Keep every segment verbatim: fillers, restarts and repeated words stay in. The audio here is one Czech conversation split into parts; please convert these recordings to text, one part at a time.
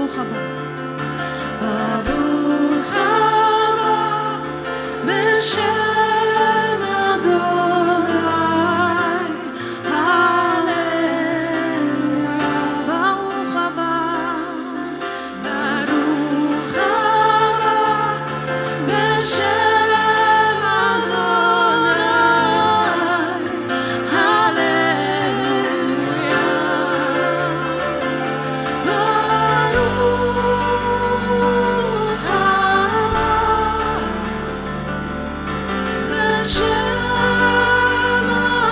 Baruch haba. Baruch haba b'shem Adonai. Hallelujah. Baruch haba. Baruch haba b'shem Adonai. Hallelujah. Baruch haba b'shem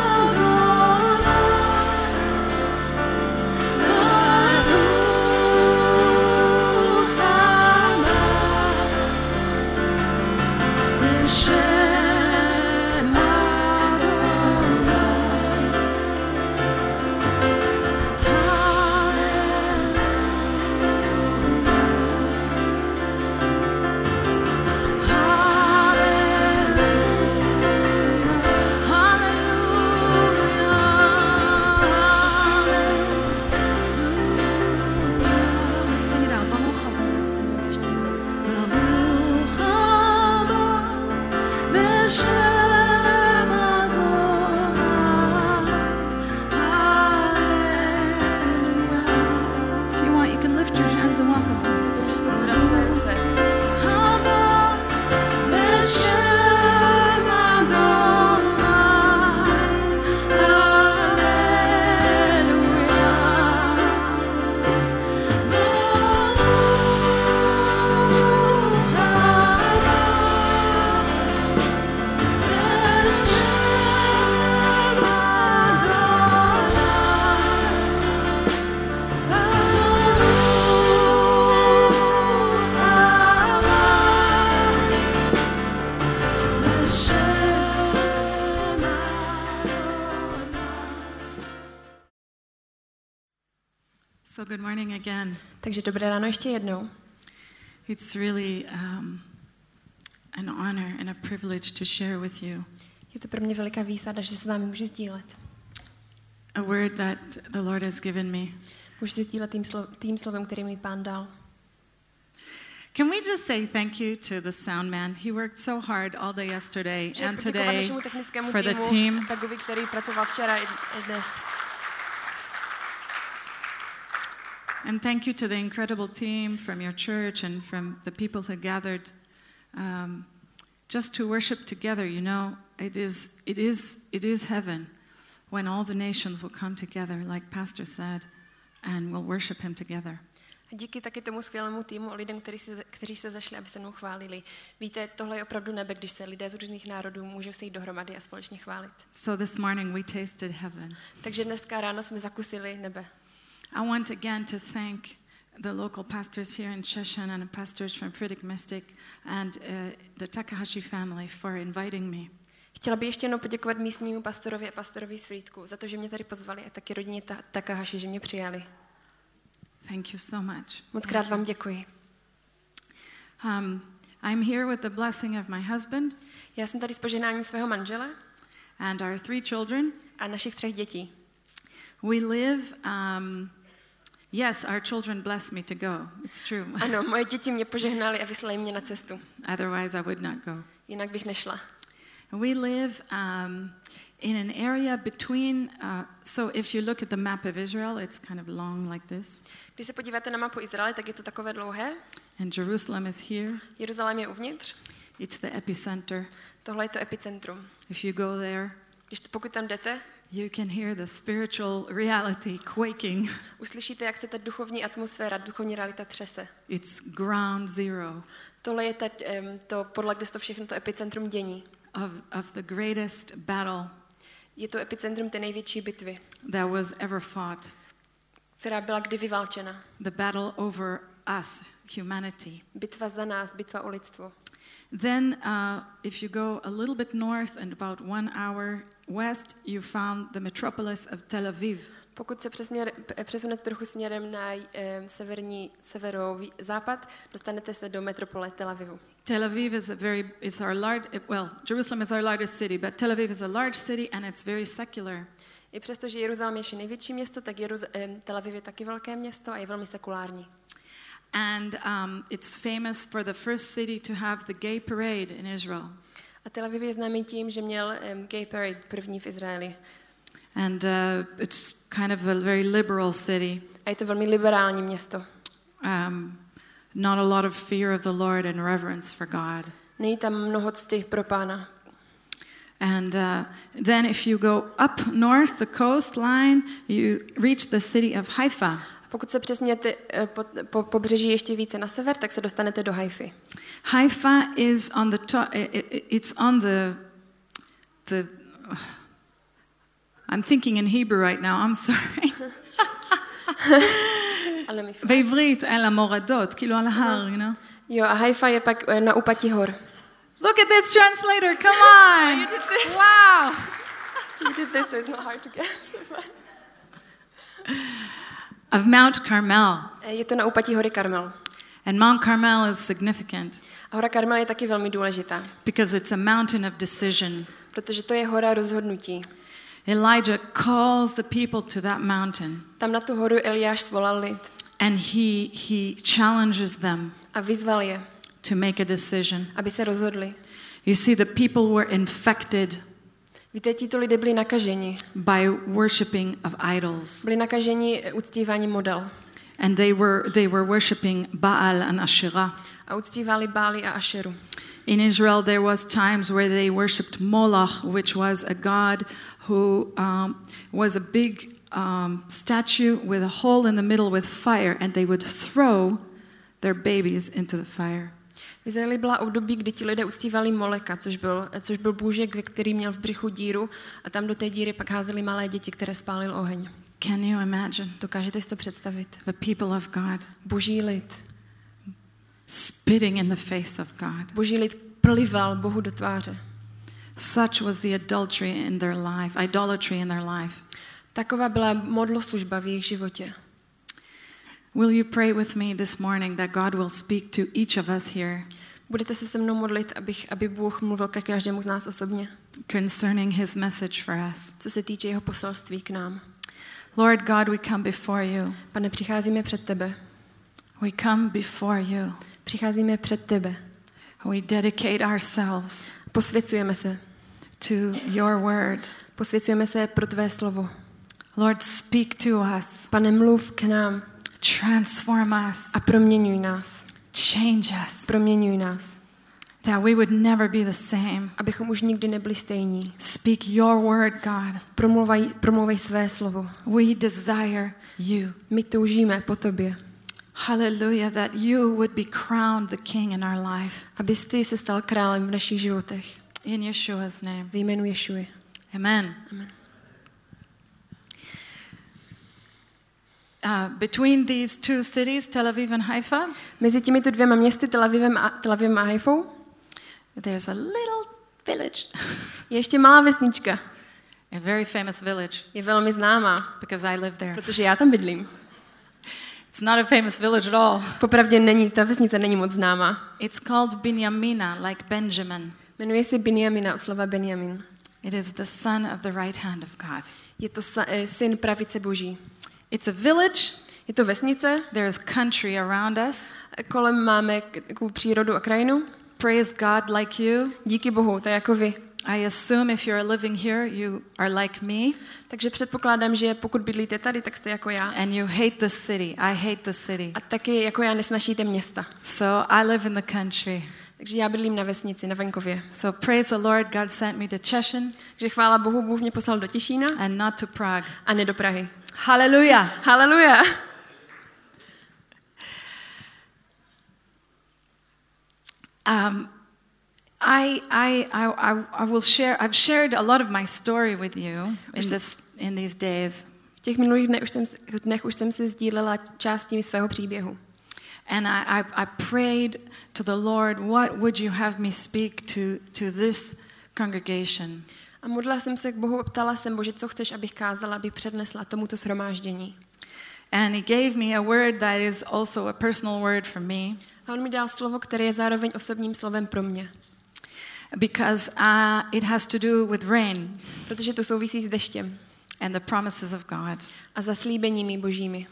So good morning again. Takže dobré ráno ještě jednou. It's really um, an honor and a privilege to share with you Je to pro mě veliká výsada, že se s vámi můžu sdílet. a word that the Lord has given me. Můžu si sdílet tím, slo- tím slovem, který mi Pán dal. Can we just say thank you to the sound man? He worked so hard all day yesterday Můžeme and poděkovat today našemu technickému for the týmu, team. Tagovi, který pracoval včera i i dnes. And thank you to the incredible team from your church and from the people who gathered um, just to worship together. You know, it is, it is, it is heaven when all the nations will come together, like Pastor said, and will worship him together. A díky taky tomu skvělému týmu a lidem, kteří se, kteří se zašli, aby se mnou chválili. Víte, tohle je opravdu nebe, když se lidé z různých národů můžou sejít dohromady a společně chválit. So this morning we tasted heaven. Takže dneska ráno jsme zakusili nebe. I want again to thank the local pastors here in Sheshan and the pastors from Fritick Mystic and uh, the Takahashi family for inviting me. Chtěla bych ještě jednou poděkovat místnímu pastorovi a pastorovi z Frýdku za to, že mě tady pozvali a taky rodině ta- Takahashi, že mě přijali. Thank you so much. Moc krát vám děkuji. Um, I'm here with the blessing of my husband Já jsem tady s požehnáním svého manžele and our three children. a našich třech dětí. We live, um, yes, our children bless me to go. It's true. Ano, moje děti mě požehnali a vyslali mě na cestu. Otherwise, I would not go. Jinak bych nešla. We live um, in an area between, uh, so if you look at the map of Israel, it's kind of long like this. Když se podíváte na mapu Izraele, tak je to takové dlouhé. And Jerusalem is here. Jeruzalém je uvnitř. It's the epicenter. Tohle je to epicentrum. If you go there, Když to, pokud tam jdete, you can hear the spiritual reality quaking. uslyšíte, jak se ta duchovní atmosféra, duchovní realita třese. It's ground zero Tohle je ta, um, to podle, kde se to všechno, to epicentrum dění. of, of the greatest battle Je to epicentrum té největší bitvy, that was ever fought. která byla kdy vyválčena. The battle over us, humanity. Bitva za nás, bitva o lidstvo. Then, uh, if you go a little bit north and about one hour west, you found the metropolis of Tel Aviv. Pokud se přesměr, přesunete trochu směrem na um, severní, severozápad, dostanete se do metropole Tel Avivu. Tel Aviv is a very, it's our large, well, Jerusalem is our largest city, but Tel Aviv is a large city and it's very secular. I přesto, že Jeruzalém je ještě největší město, tak Jeruz, um, Tel Aviv je taky velké město a je velmi sekulární. And um, it's famous for the first city to have the gay parade in Israel. A Tel Aviv je známý tím, že měl um, gay parade první v Izraeli. And uh, it's kind of a very liberal city. A je to velmi liberální město. Um, not a lot of fear of the Lord and reverence for God. Není tam mnoho cti pro Pána. And uh, then if you go up north, the coastline, you reach the city of Haifa. Pokud se přesmějete po, po pobřeží ještě více na sever, tak se dostanete do Haify. Haifa is on the top, it's on the, the, uh, I'm thinking in Hebrew right now, I'm sorry. Ale mi בעברית, על המורדות, כאילו על ההר, you know? Jo, a Haifa je pak na úpatí hor. Look at this translator, come on! You did this. Wow! You did this, so it's not hard to guess. Of Mount Carmel. Je to na úpatí hory Karmel. And Mount Carmel is significant A hora Karmel je taky velmi důležitá, because it's a mountain of decision. protože to je hora rozhodnutí. Elijah calls the people to that mountain Tam na tu horu Eliáš svolal lid and he, he challenges them a vyzval je, to make a decision. aby se rozhodli. You see, the people were infected Víte, tito lidé byli nakaženi. by worshiping of idols. Byli nakaženi uctíváním model. And they were, they were worshiping Baal and Asherah. A uctívali Báli a Ašeru. In Israel, there was times where they worshipped Moloch, which was a god who um, was a big um, statue with a hole in the middle with fire, and they would throw their babies into the fire. V Izraeli byla období, kdy ti lidé uctívali Moleka, což byl, což byl bůžek, který měl v břichu díru a tam do té díry pak házeli malé děti, které spálil oheň. Can you imagine? Dokážete si to představit? The people of God Boží lid. spitting in the face of God. Boží lid plival Bohu do tváře. Such was the adultery in their life, idolatry in their life. Taková byla modloslužba v jejich životě. Will you pray with me this morning that God will speak to each of us here Budete se se mnou modlit, abych, aby Bůh mluvil ke každému z nás osobně, concerning his message for us? co se týče jeho poselství k nám. Lord God, we come before you. Pane, přicházíme před tebe. We come before you. Přicházíme před tebe. We dedicate ourselves Posvěcujeme se. to your word. Posvěcujeme se pro tvé slovo. Lord, speak to us. Pane, mluv k nám Transform us. a proměňuj nás. Change us. Proměňuj nás. That we would never be the same. Abychom už nikdy nebyli stejní. Speak your word, God. Promluvaj, promluvej své slovo. We desire you. My toužíme po tobě. Hallelujah, that you would be crowned the king in our life. Abys ty se stal králem v našich životech. In Yeshua's name. Ve jménu Ješuji. Amen. Amen. Uh, between these two cities, Tel Aviv and Haifa, Mezi těmito dvěma městy, Tel Avivem a, Tel Avivem a Haifou, there's a little village. je ještě malá vesnička. A very famous village Je velmi známá, because I live there. protože já tam bydlím. It's not a famous village at all. Popravdě není, ta vesnice není moc známá. It's called Binyamina, like Benjamin. Jmenuje se Binjamina od slova Benjamin. It is the son of the right hand of God. Je to sa, eh, syn pravice Boží. It's a village. Je to vesnice, There is country around us. kolem máme k- takovou přírodu a krajinu. Praise God like you. Díky Bohu, to je jako vy. I assume if you're living here, you are like me Takže předpokládám, že pokud bydlíte tady, tak jste jako já. and you hate the city. I hate the city. A taky jako já nesnašíte města. So I live in the country. Takže já bydlím na vesnici, na venkově. So praise the Lord, God sent me to Češin Takže chvála Bohu, Bůh mě poslal do Těšína and not to Prague. a ne do Prahy. Hallelujah. Haleluja! Um, I, I, I, I, I will share, I've shared a lot of my story with you in, this, in these days. V těch minulých dnech už jsem, dnech už jsem si sdílela části svého příběhu. And I, I, I prayed to the Lord, what would you have me speak to, to this congregation? A modlila jsem se k Bohu a ptala jsem, Bože, co chceš, abych kázala, abych přednesla tomuto shromáždění. And he gave me a word that is also a personal word for me. A on mi dal slovo, které je zároveň osobním slovem pro mě. Because uh, it has to do with rain Protože to souvisí s deštěm and the promises of God. a zaslíbeními božími.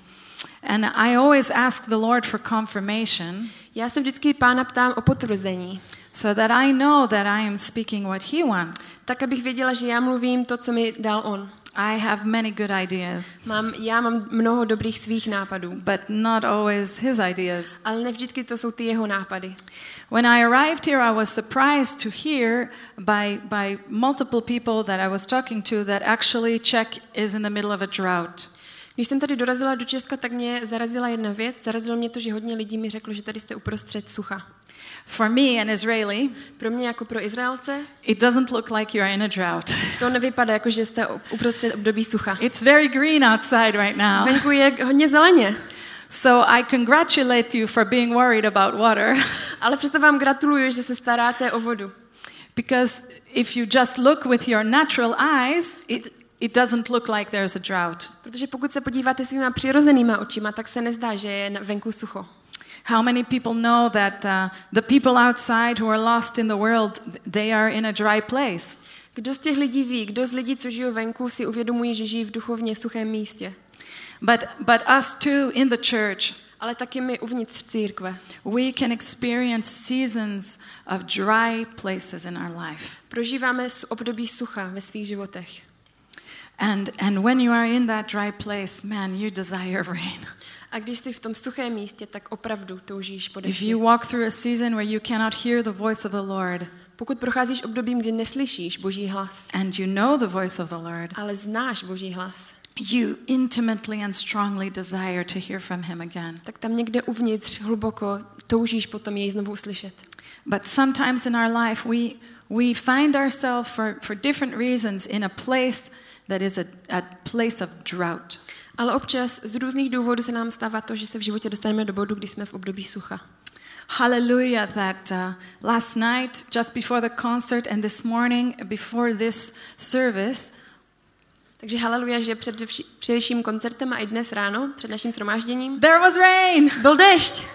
And I always ask the Lord for confirmation Já se vždycky Pána ptám o potvrzení, so that I know that I am speaking what he wants. tak abych věděla, že já mluvím to, co mi dal on. I have many good ideas, Mám, já mám mnoho dobrých svých nápadů, but not always his ideas. ale ne vždycky to jsou ty jeho nápady. When I arrived here, I was surprised to hear by, by multiple people that I was talking to that actually Czech is in the middle of a drought. Když jsem tady dorazila do Česka, tak mě zarazila jedna věc. Zarazilo mě to, že hodně lidí mi řeklo, že tady jste uprostřed sucha. For me, an Israeli, Pro mě jako pro Izraelce it doesn't look like you're in a drought. to nevypadá jako, že jste uprostřed období sucha. It's very green outside right now. Venku je hodně zeleně, So I congratulate you for being worried about water. ale přesto vám gratuluju, že se staráte o vodu. Because if you just look with your natural eyes, it, it doesn't look like there's a drought. Protože pokud se podíváte svýma přirozenýma očima, tak se nezdá, že je venku sucho. How many people know that uh, the people outside who are lost in the world, they are in a dry place? Kdo z těch lidí ví, kdo z lidí, co žijou venku, si uvědomují, že žijí v duchovně suchém místě. But, but us too in the church, Ale taky my uvnitř církve. we can experience seasons of dry places in our life. Prožíváme období sucha ve svých životech. And, and when you are in that dry place, man, you desire rain. A když jsi v tom suchém místě, tak opravdu toužíš po If dešti. you walk through a season where you cannot hear the voice of the Lord, Pokud procházíš obdobím, kdy neslyšíš Boží hlas, and you know the voice of the Lord, ale znáš Boží hlas, you intimately and strongly desire to hear from him again. tak tam někde uvnitř hluboko toužíš potom jej znovu uslyšet. But sometimes in our life we we find ourselves for, for different reasons in a place that is a, a place of drought. Ale občas z různých důvodů se nám stává to, že se v životě dostaneme do bodu, kdy jsme v období sucha. Hallelujah that uh, last night, just before the concert and this morning before this service, Takže haleluja, že před vši- především koncertem a i dnes ráno, před naším shromážděním, there was rain. byl déšť.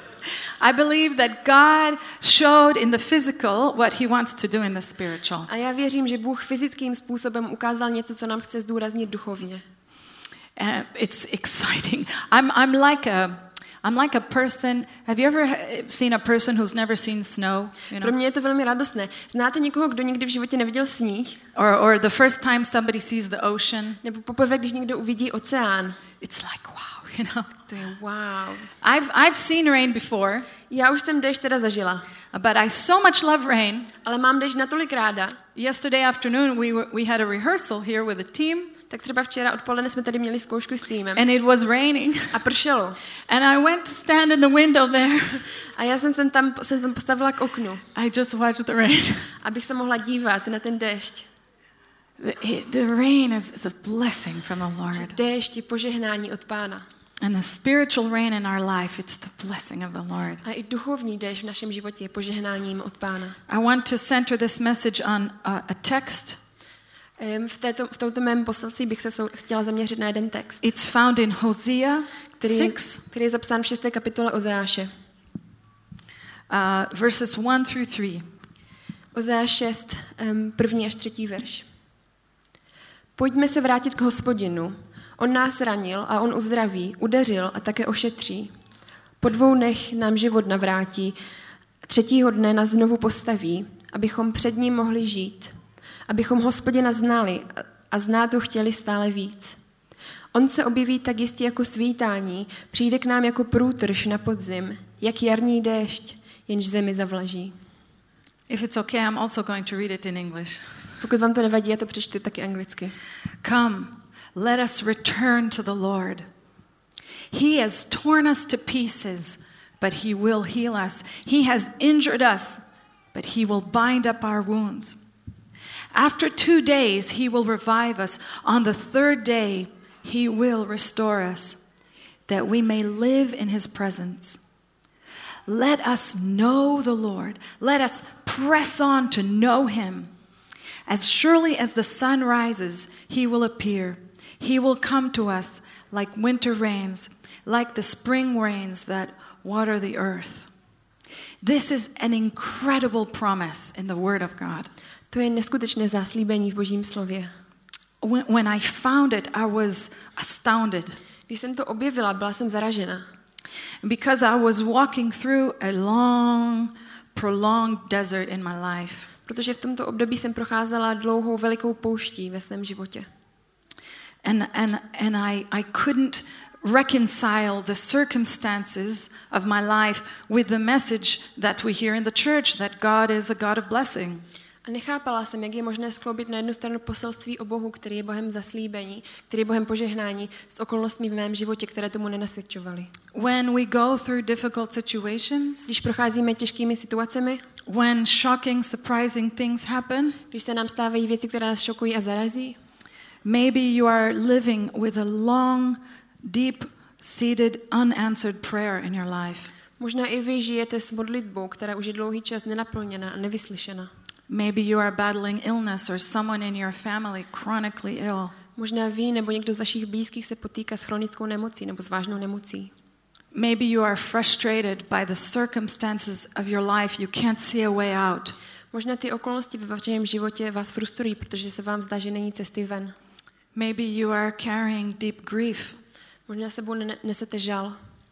I believe that God showed in the physical what he wants to do in the spiritual. A já věřím, že Bůh fyzickým způsobem ukázal něco, co nám chce zdůraznit duchovně. Uh, it's exciting. I'm I'm like a I'm like a person. Have you ever seen a person who's never seen snow? You Pro know, mě je to velmi radostné. Znáte někoho, kdo nikdy v životě neviděl sníh? or or the first time somebody sees the ocean, Nebo poprvé, když někdo uvidí oceán? it's like wow, you know. To je wow. I've I've seen rain before, Já už jsem déšť teda zažila, but I so much love rain. ale mám déšť natolik ráda. Yesterday afternoon we were, we had a rehearsal here with a team, Tak třeba včera odpoledne jsme tady měli zkoušku s týmem and it was raining. a pršelo. And I went to stand in the window there. A já jsem se tam, jsem tam postavila k oknu, I just watched the rain. abych se mohla dívat na ten déšť. The, it- the rain is, is a blessing from the Lord. Déšť je požehnání od Pána. And the spiritual rain in our life, it's the blessing of the Lord. A i duchovní déšť v našem životě je požehnáním od Pána. I want to center this message on a, a text. Em, V, této, v tomto mém poselství bych se sou, chtěla zaměřit na jeden text, It's found in Hosea který, six, který je zapsán v šesté kapitole Ozeáše. uh, verses one through three. Ozeáš šest, em, první až třetí verš. Pojďme se vrátit k Hospodinu. On nás ranil a on uzdraví, udeřil a také ošetří. Po dvou dnech nám život navrátí, třetího dne nás znovu postaví, abychom před ním mohli žít. Abychom Hospodina znali a znát ho chtěli stále víc. On se objeví tak jistě jako svítání, přijde k nám jako průtrž na podzim, jak jarní déšť, jenž zemi zavlaží. If it's okay, I'm also going to read it in English. Pokud vám to nevadí, já to přečtu taky anglicky. Come, let us return to the Lord. He has torn us to pieces, but he will heal us. He has injured us, but he will bind up our wounds. After two days, he will revive us. On the third day, he will restore us, that we may live in his presence. Let us know the Lord. Let us press on to know him. As surely as the sun rises, he will appear. He will come to us like winter rains, like the spring rains that water the earth. This is an incredible promise in the Word of God. To je neskutečné záslíbení v Božím slově. When, when I found it, I was astounded. Když jsem to objevila, byla jsem zaražena. Because I was walking through a long, prolonged desert in my life. Protože v tomto období jsem procházela dlouhou velikou pouští ve svém životě. And, and, and I, I couldn't reconcile the circumstances of my life with the message that we hear in the church, that God is a God of blessing. A nechápala jsem, jak je možné skloubit na jednu stranu poselství o Bohu, který je Bohem zaslíbení, který je Bohem požehnání, s okolnostmi v mém životě, které tomu nenasvědčovaly. When we go through difficult situations, Když procházíme těžkými situacemi, when shocking, surprising things happen, když se nám stávají věci, které nás šokují a zarazí, maybe you are living with a long, deep-seated, unanswered prayer in your life. možná i vy žijete s modlitbou, která už je dlouhý čas nenaplněna a nevyslyšena. Maybe you are battling illness or someone in your family chronically ill. Možná vy nebo někdo z vašich blízkých se potýká s chronickou nemocí nebo s vážnou nemocí. Maybe you are frustrated by the circumstances of your life. You can't see a way out. Možná ty okolnosti ve vašem životě vás frustrují, protože se vám zdá, že není cesty ven. Maybe you are carrying deep grief. Možná sebou nesete žal.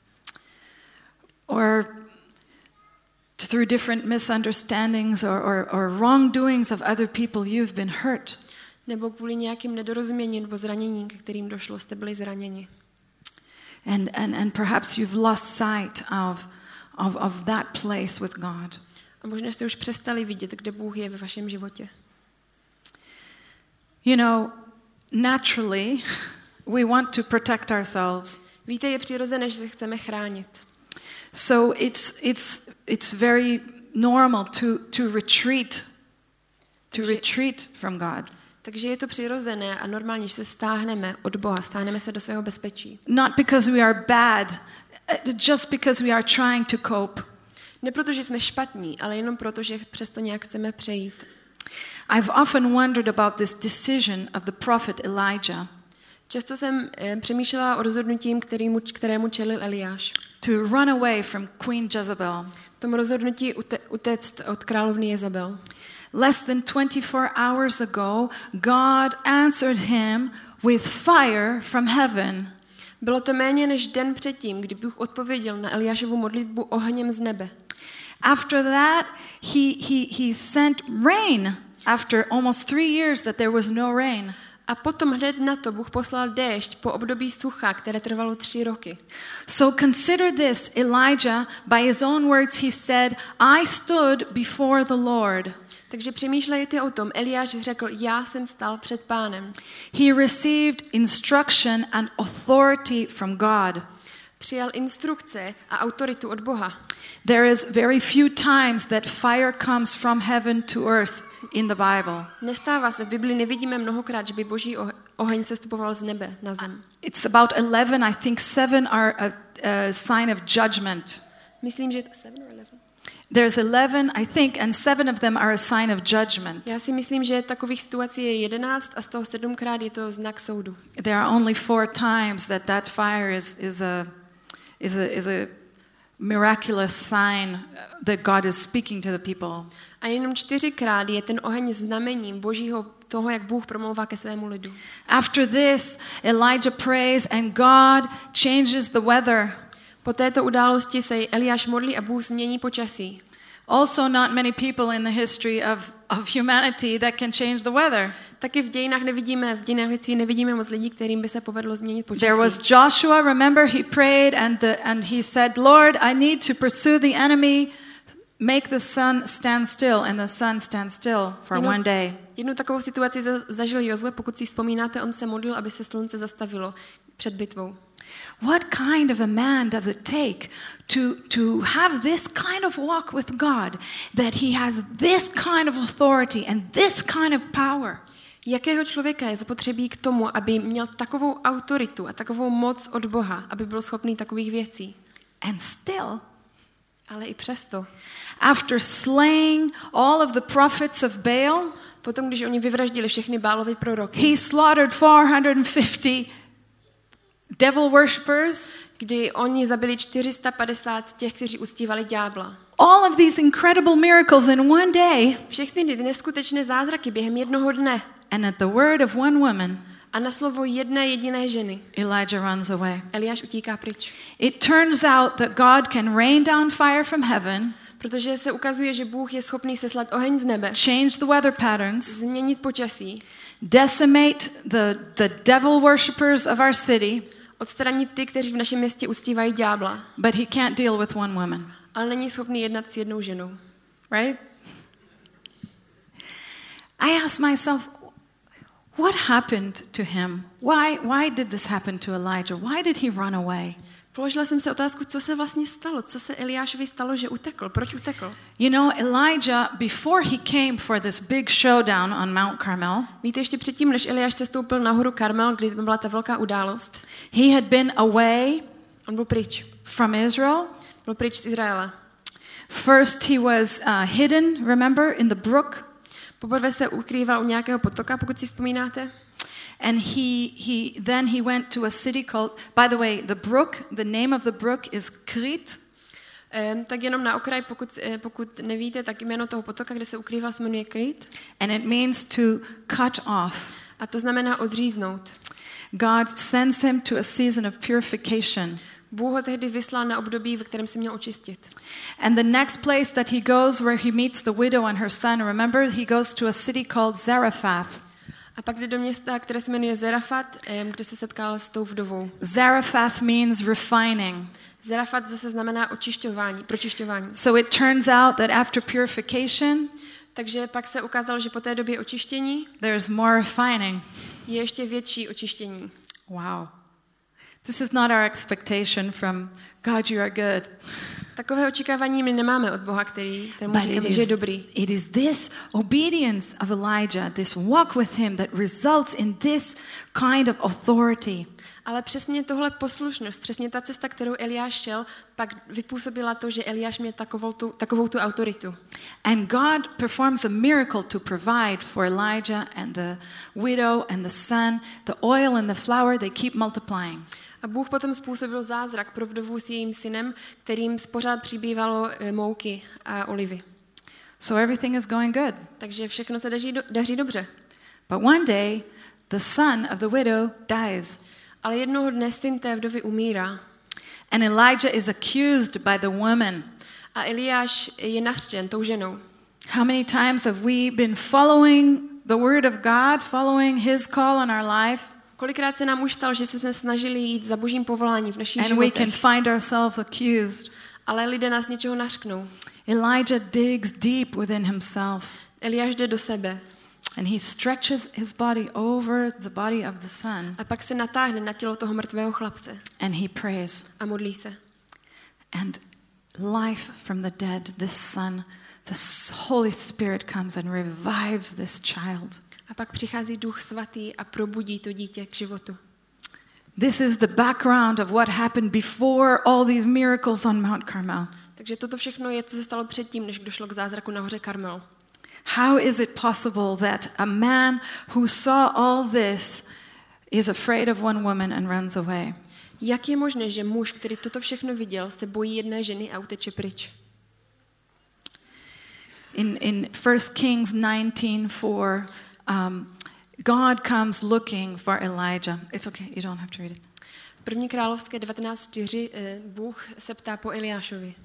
Or through different misunderstandings or, or, or wrongdoings of other people, you've been hurt. Nebo kvůli nějakým nedorozuměním nebo zraněním, ke kterým došlo, jste byli zraněni. And, and, and perhaps you've lost sight of, of, of that place with God. A možná jste už přestali vidět, kde Bůh je ve vašem životě. You know, naturally, we want to protect ourselves. Víte, je přirozené, že se chceme chránit. So it's, it's, it's very normal to, to retreat, to Takže- retreat from God. Takže je to přirozené a normálně, že se stáhneme od Boha, stáhneme se do svého bezpečí. Not because we are bad, uh, just because we are trying to cope. Ne proto, že jsme špatní, ale jenom proto, že přesto nějak chceme přejít. I've often wondered about this decision of the prophet Elijah Často jsem eh, přemýšlela o rozhodnutím, kterému, kterému čelil Eliáš. to run away from Queen Jezebel. Tomu rozhodnutí ute, utéct od královny Jezabel. Less than twenty-four hours ago, God answered him with fire from heaven. Bylo to méně než den předtím, kdy Bůh odpověděl na Eliášovu modlitbu ohněm z nebe. After that, he, he, he sent rain after almost three years that there was no rain. A potom hned na to Bůh poslal déšť po období sucha, které trvalo tři roky. So consider this, Elijah, by his own words, he said, I stood before the Lord. Takže přemýšlejte o tom. Eliáš řekl, já jsem stál před Pánem. He received instruction and authority from God. Přijal instrukce a autoritu od Boha. There is very few times that fire comes from heaven to earth in the Bible. Nestává se, v Bibli nevidíme mnohokrát, že by boží oh- oheň sestupoval z nebe na zem. It's about eleven, I think seven are a, a sign of judgment. Myslím, že je to seven or eleven? There's eleven, I think, and seven of them are a sign of judgment. Já si myslím, že takových situací je jedenáct a z toho sedmkrát je to znak soudu. There are only four times that that fire is, is, a, is, a, is a miraculous sign that God is speaking to the people. A jenom čtyřikrát je ten oheň znamením božího toho, jak Bůh promlouvá ke svému lidu. After this, Elijah prays and God changes the weather. Po této události se Eliáš modlí a Bůh změní počasí. Also not many people in the history of, of humanity that can change the weather. Taky v dějinách nevidíme, v dějinách lidství nevidíme moc lidí, kterým by se povedlo změnit počasí. There was Joshua, remember he prayed and, the, and he said, Lord, I need to pursue the enemy, make the sun stand still, and the sun stand still for You know, one day. Jednu takovou situaci za- zažil Jozue, pokud si vzpomínáte, on se modlil, aby se slunce zastavilo před bitvou. What kind of a man does it take to, to have this kind of walk with God, that he has this kind of authority and this kind of power? Jakého člověka je zapotřebí k tomu, aby měl takovou autoritu a takovou moc od Boha, aby byl schopný takových věcí? And still, Ale i přesto. after slaying all of the prophets of Baal, Potom, když oni vyvraždili všechny Bálovy proroky, he slaughtered four hundred fifty devil worshippers. kdy oni zabili čtyři sta padesát těch, kteří uctívali ďábla. All of these incredible miracles in one day, Všechny ty neskutečné zázraky během jednoho dne. and at the word of one woman, A na slovo jedné jediné ženy Elijah runs away. Eliáš utíká pryč. It turns out that God can rain down fire from heaven, Protože se ukazuje, že Bůh je schopný seslat oheň z nebe, change the weather patterns, změnit počasí, decimate the, the devil worshippers of our city, odstranit ty, kteří v našem městě uctívají ďábla, but he can't deal with one woman. ale není schopný jednat s jednou ženou. Right? I ask myself, what happened to him? Why, why did this happen to Elijah? Why did he run away? Položila jsem si otázku, co se vlastně stalo, co se Eliášovi stalo, že utekl, proč utekl? You know, Elijah, before he came for this big showdown on Mount Carmel, Víte, ještě předtím, než Eliáš se stoupil na horu Karmel, kdy byla ta velká událost, he had been away on byl pryč. from Israel. Byl pryč z Izraele. First he was uh, hidden, remember, in the brook. Poprvé se ukrýval u nějakého potoka, pokud si vzpomínáte. And he, he, then he went to a city called, by the way, the brook, the name of the brook is Krit. Um, tak jenom na okraj, pokud, pokud nevíte, tak jméno toho potoka, kde se ukrýval, se jmenuje Krit. And it means to cut off. A to znamená odříznout. God sends him to a season of purification. Bůh ho tehdy vyslal na období, ve kterém se měl očistit. And the next place that he goes where he meets the widow and her son, remember, he goes to a city called Zarephath. A pak jde do města, které se jmenuje Zarafat, kde se setkal s tou vdovou. Zarephath means refining. Zarafat zase znamená očišťování, pročišťování. So it turns out that after purification, Takže pak se ukázalo, že po té době očištění there's more refining. je ještě větší očištění. Wow. This is not our expectation from God, you are good. Takové očekávání my nemáme od Boha, který, kterému But říkáme, it že je is, dobrý. it is this obedience of Elijah, this walk with him that results in this kind of authority. Ale přesně tohle poslušnost, přesně ta cesta, kterou Eliáš šel, pak vypůsobila to, že Eliáš měl takovou tu, takovou tu autoritu. And God performs a miracle to provide for Elijah and the widow and the son. The oil and the flour, they keep multiplying. A Bůh potom způsobil zázrak pro vdovu s jejím synem, kterým pořád přibývalo mouky a olivy. So everything is going good. Takže všechno se daří, do, daří dobře. But one day, the son of the widow dies. Ale jednoho dne syn té vdovy umírá. And Elijah is accused by the woman. A Eliáš je nařčen tou ženou. How many times have we been following the word of God, following his call on our life? Kolikrát se nám už stalo, že jsme snažili jít za božím povoláním v našich And we can životech, find ourselves accused. ale lidé nás něčeho nařknou. Elijah digs deep within himself. Eliáš jde do sebe And he stretches his body over the body of the son. a pak se natáhne na tělo toho mrtvého chlapce And he prays. a modlí se. And life from the dead, this son, the Holy Spirit comes and revives this child. A pak přichází Duch Svatý a probudí to dítě k životu. This is the background of what happened before all these miracles on Mount Carmel. Takže toto všechno je, co se stalo předtím, než došlo k zázraku na hoře Karmel. How is it possible that a man who saw all this is afraid of one woman and runs away? Jak je možné, že muž, který toto všechno viděl, se bojí jedné ženy a uteče pryč? In in First Kings nineteen four, um, God comes looking for Elijah. It's okay, you don't have to read it. V první královské devatenáct čtyři Bůh se ptá po Eliášovi.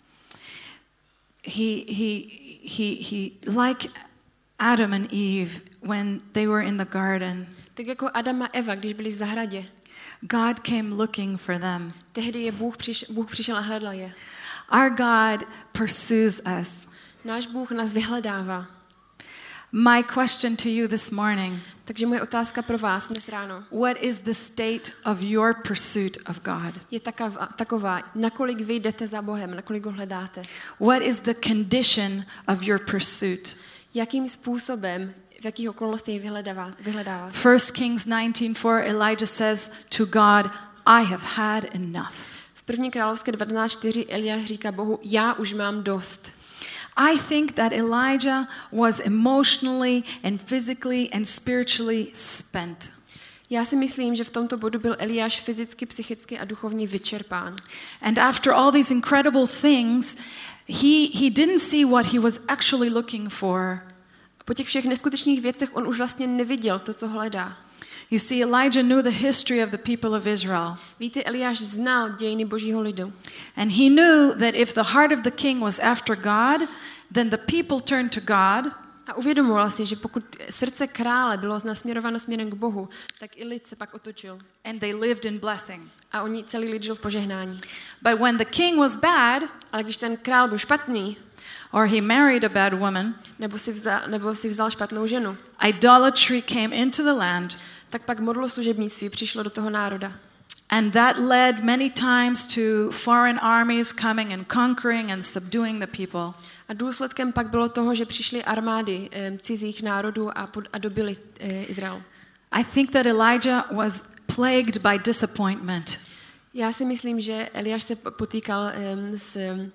He he he he like Adam and Eve when they were in the garden. Tak jako Adam a Eva, když byli v zahradě. God came looking for them. Tehdy je Bůh, přiš, Bůh přišel a hledal je. Our God pursues us. Náš Bůh nás vyhledává. My question to you this morning. Takže moje otázka pro vás dnes ráno What is the state of your pursuit of God? je taková, taková, nakolik vy jdete za Bohem, nakolik ho hledáte. What is the condition of your pursuit? Jakým způsobem, v jakých okolnostech ji vyhledává, vyhledáváte. First Kings nineteen four, Elijah says to God, I have had enough. V první královské devatenáct čtyři Eliáš říká Bohu, já už mám dost. I think that Elijah was emotionally and physically and spiritually spent. Já si myslím, že v tomto bodu byl Eliáš fyzicky, psychicky a duchovně vyčerpán. And after all these incredible things, he he didn't see what he was actually looking for. Po těch všech neskutečných věcech on už vlastně neviděl to, co hledá. You see, Elijah knew the history of the people of Israel. Víte, Eliáš znal dějiny božího lidu. And he knew that if the heart of the king was after God, then the people turned to God. A uvědomoval si, že pokud srdce krále bylo nasměrováno směrem k Bohu, tak i lid se pak otočil. And they lived in blessing. A oni celý lid žil v požehnání. But when the king was bad, Ale když ten král byl špatný, or he married a bad woman, nebo si vzal, nebo si vzal špatnou ženu, idolatry came into the land. tak pak modloslužebnictví přišlo do toho národa. And that led many times to foreign armies coming and conquering and subduing the people. A důsledkem pak bylo toho, že přišly armády e, cizích národů a, pod, a dobili e, Izrael. I think that Elijah was plagued by disappointment. Já si myslím, že Eliáš se potýkal e, s, e,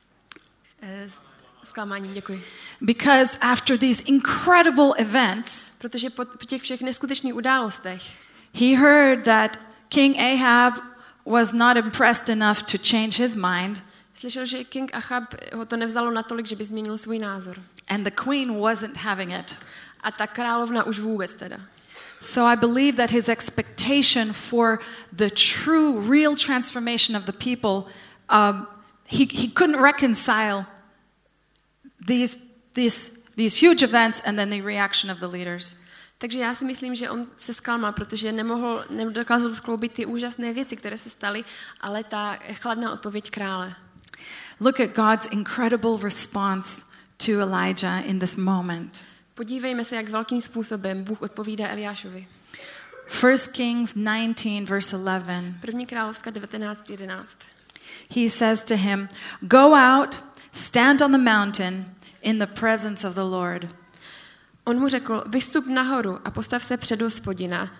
s zklamáním. Děkuji. Because after these incredible events, Protože po, po těch všech neskutečných událostech he heard that King Ahab was not impressed enough to change his mind, slyšel, že King Achab ho to nevzalo natolik, že by změnil svůj názor. and the queen wasn't having it. A ta královna už vůbec teda. So I believe that his expectation for the true, real transformation of the people, um, he, he couldn't reconcile these, these, these huge events and then the reaction of the leaders. Takže já si myslím, že on se zklamal, protože nemohl, nedokázal skloubit ty úžasné věci, které se staly, ale ta chladná odpověď krále. Look at God's incredible response to Elijah in this moment. Podívejme se, jak velkým způsobem Bůh odpovídá Eliášovi. First Kings nineteen, verse eleven. První královská devatenáct jedenáct. He says to him, "Go out, stand on the mountain in the presence of the Lord." On mu řekl, vystup nahoru a postav se před Hospodina,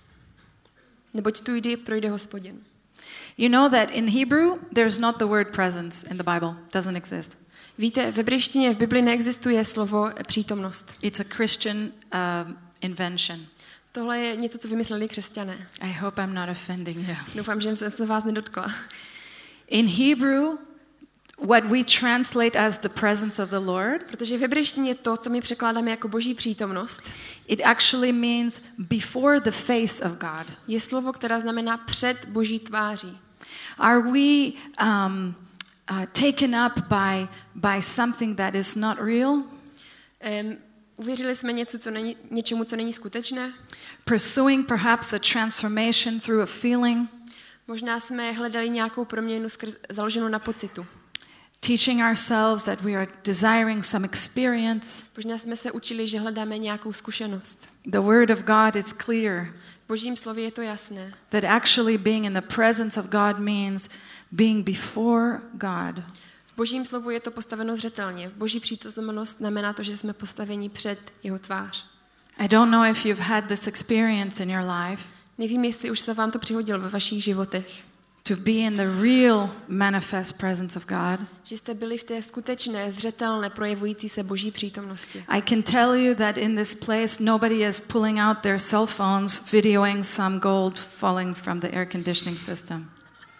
neboť tu jde projde Hospodin. You know that in Hebrew there's not the word presence in the Bible. Doesn't exist. Víte, v hebrejštině v Bibli neexistuje slovo přítomnost. It's a Christian uh, invention. Tohle je něco, co vymysleli křesťané. I hope I'm not offending you. Doufám, že jsem se vás nedotkla. In Hebrew, what we translate as the presence of the Lord, Protože v hebrejštině to, co my překládáme jako boží přítomnost, it actually means before the face of God. je slovo, které znamená před boží tváří. Are we um, uh, taken up by, by something that is not real? Um, uvěřili jsme něco, co není, něčemu, co není skutečné? Pursuing perhaps a transformation through a feeling? Možná jsme hledali nějakou proměnu skrz, založenou na pocitu. Teaching ourselves that we are desiring some experience? Možná jsme se učili, že hledáme nějakou zkušenost. The word of God is clear V božím slově je to jasné. that actually being in the presence of God means being before God. V božím slovu je to postaveno zřetelně. V boží přítomnost znamená to, že jsme postaveni před jeho tvář. I don't know if you've had this experience in your life, Nevím, jestli už se vám to přihodilo ve vašich životech. to be in the real manifest presence of God. Že jste byli v té skutečné, zřetelné, projevující se boží přítomnosti. I can tell you that in this place nobody is pulling out their cell phones videoing some gold falling from the air conditioning system.